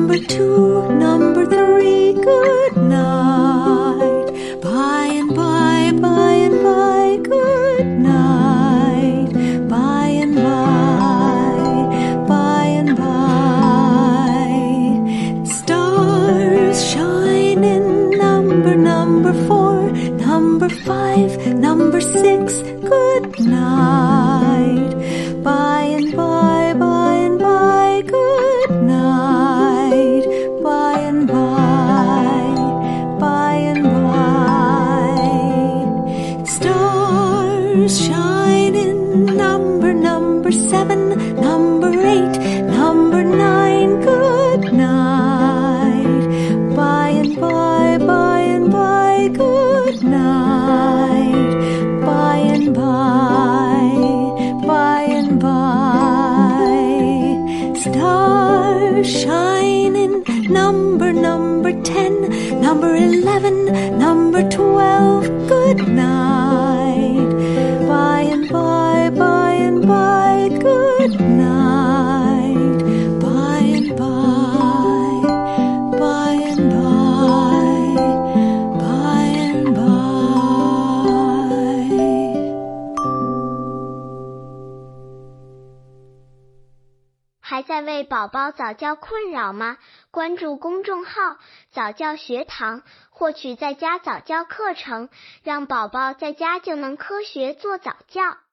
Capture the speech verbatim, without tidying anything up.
number two, number three, good night. By and by, by and by, good night. By and by, by and by. Stars shine in number, number four, number five, number six, good night. By and by, by and by, good night. By and by, by and by. Stars shine in number, number seven, number eight, number nine, good night. By and by, by and by, good night. By and by, by and by. Stars shine in number, number ten, number eleven, number twelve, good night. By and by, by and by, good night. By and by, by and by, by and by. 还在为宝宝早教困扰吗？关注公众号早教学堂，获取在家早教课程，让宝宝在家就能科学做早教。